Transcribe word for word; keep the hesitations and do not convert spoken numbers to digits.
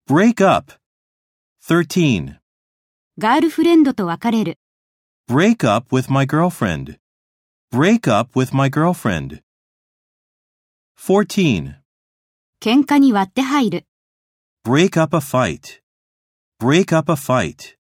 break up. thirteen. ガールフレンドと別れる。 Break up with my girlfriend. Break up with my girlfriend. fourteen. 喧嘩に割って入る。 Break up a fight. Break up a fight.